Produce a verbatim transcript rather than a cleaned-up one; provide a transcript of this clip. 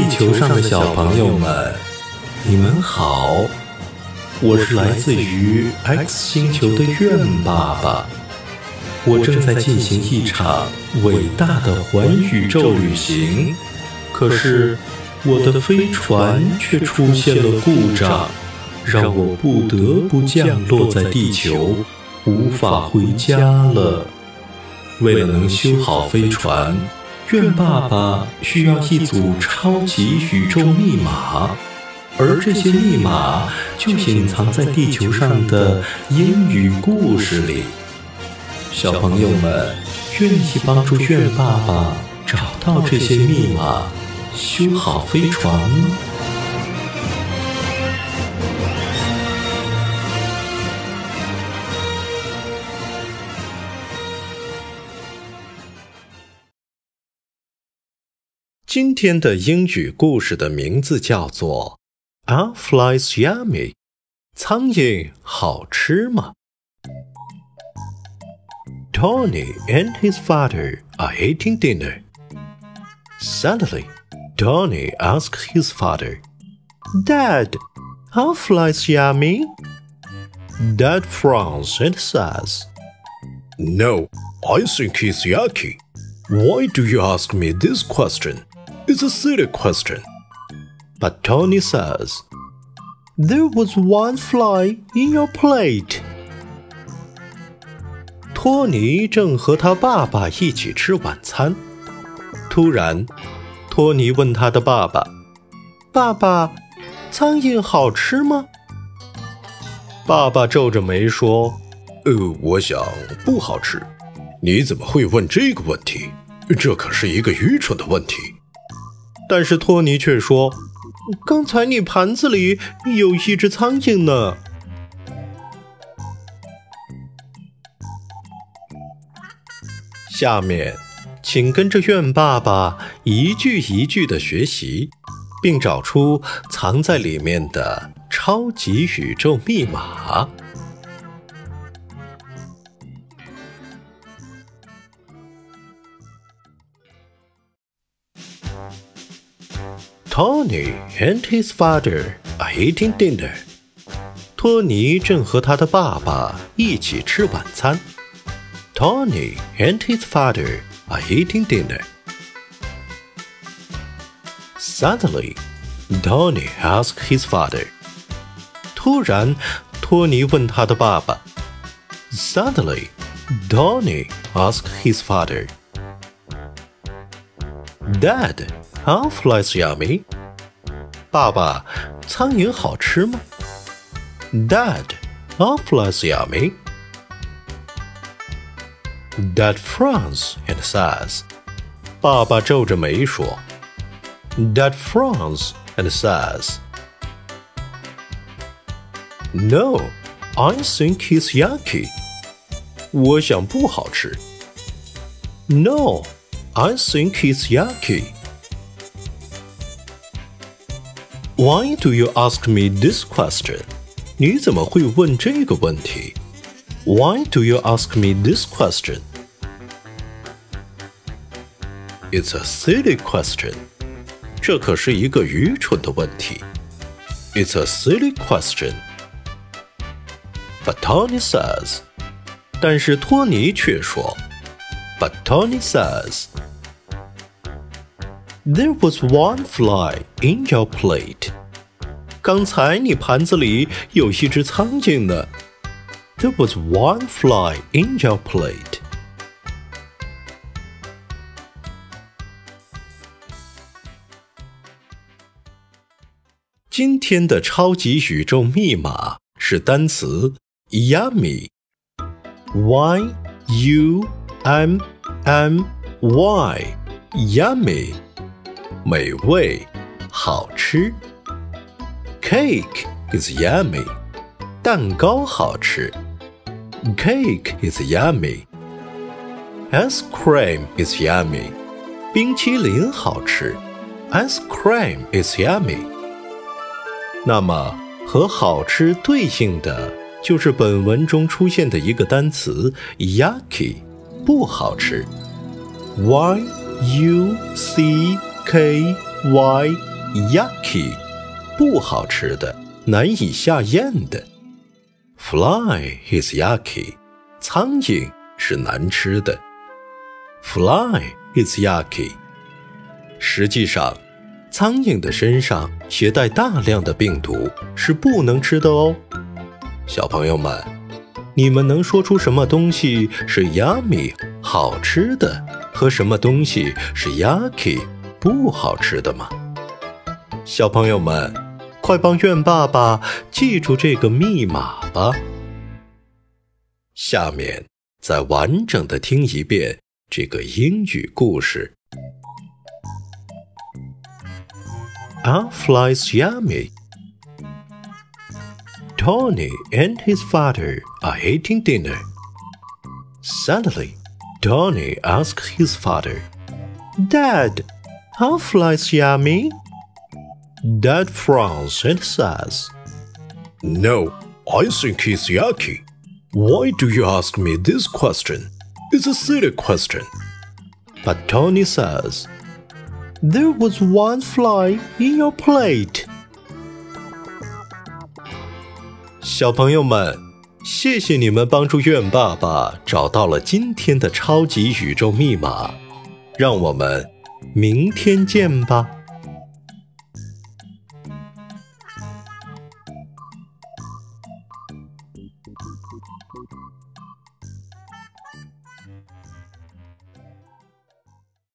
地球上的小朋友们，你们好，我是来自于 X 星球的愿爸爸。我正在进行一场伟大的环宇宙旅行，可是我的飞船却出现了故障，让我不得不降落在地球，无法回家了。为了能修好飞船，愿爸爸需要一组超级宇宙密码，而这些密码就隐藏在地球上的英语故事里。小朋友们愿意帮助愿爸爸找到这些密码，修好飞船吗？今天的英语故事的名字叫做 Are flies yummy? 苍蝇好吃吗？ Tony and his father are eating dinner. Suddenly, Tony asked his father, Dad, are flies yummy? Dad frowns and says, No, I think it's yucky. Why do you ask me this question?It's a silly question. But Tony says, There was one fly in your plate. 托尼正和他爸爸一起吃晚餐，突然，托尼问他的爸爸：“爸爸，苍蝇好吃吗？”爸爸皱着眉说：“呃，我想不好吃。你怎么会问这个问题？这可是一个愚蠢的问题。”但是托尼却说：“刚才你盘子里有一只苍蝇呢。”下面，请跟着愿爸爸一句一句地学习，并找出藏在里面的超级宇宙密码。Tony and his father are eating dinner. 托尼正和他的爸爸一起吃晚餐。Tony and his father are eating dinner. Suddenly, Tony asked his father. 突然，托尼问他的爸爸。Suddenly, Tony asked his father. Dad,Are flies yummy? 爸爸，苍蝇好吃吗？ Dad, are flies yummy? Dad frowns and says. 爸爸皱着眉说。Dad frowns and says. No, I think it's yucky. 我想不好吃。No, I think it's yucky.Why do you ask me this question? 你怎么会问这个问题？ Why do you ask me this question? It's a silly question. 这可是一个愚蠢的问题。It's a silly question. But Tony says. 但是托尼却说。But Tony says.There was one fly in your plate. 刚才你盘子里有一只苍蝇呢。There was one fly in your plate. 今天的超级宇宙密码是单词 yummy. Y U M M Y. Yummy.美味，好吃。Cake is yummy. 蛋糕好吃。Cake is yummy. Ice cream is yummy. 冰淇淋好吃。Ice cream is yummy. 那么，和好吃对应的就是本文中出现的一个单词 yucky， 不好吃。Y U C K Y yucky 不好吃的，难以下咽的。Fly is yucky 苍蝇是难吃的。Fly is yucky 实际上，苍蝇的身上携带大量的病毒，是不能吃的哦。小朋友们，你们能说出什么东西是 yummy 好吃的，和什么东西是 yucky 不好吃的吗？小朋友们，快帮愿爸爸记住这个密码吧。下面再完整的听一遍这个英语故事。Are flies yummy? Tony and his father are eating dinner. Suddenly, Tony asked his father, Dad, are flies yummy? Dad frowns and says, No, I think it's yucky. Why do you ask me this question? It's a silly question. But Tony says, There was one fly in your plate. 小朋友们，谢谢你们帮助愿爸爸找到了今天的超级宇宙密码，让我们明天见吧。